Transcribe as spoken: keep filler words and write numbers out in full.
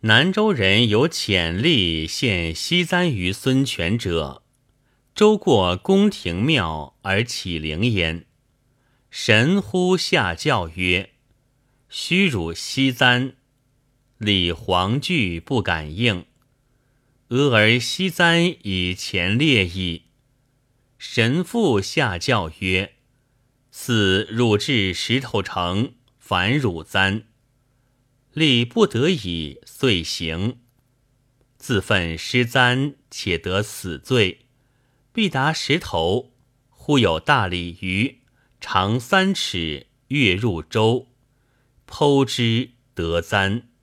南州人有潜力献西簪于孙权者，周过宫廷庙而启灵焉。神乎下教曰：虚辱西簪，立黄惧不敢应。俄而西簪以前列矣。神父下教曰：似入至石头城，反辱簪。立不得已，遂行。自愤失簪，且得死罪。必达石头，忽有大鲤鱼，长三尺，跃入舟，剖之得簪。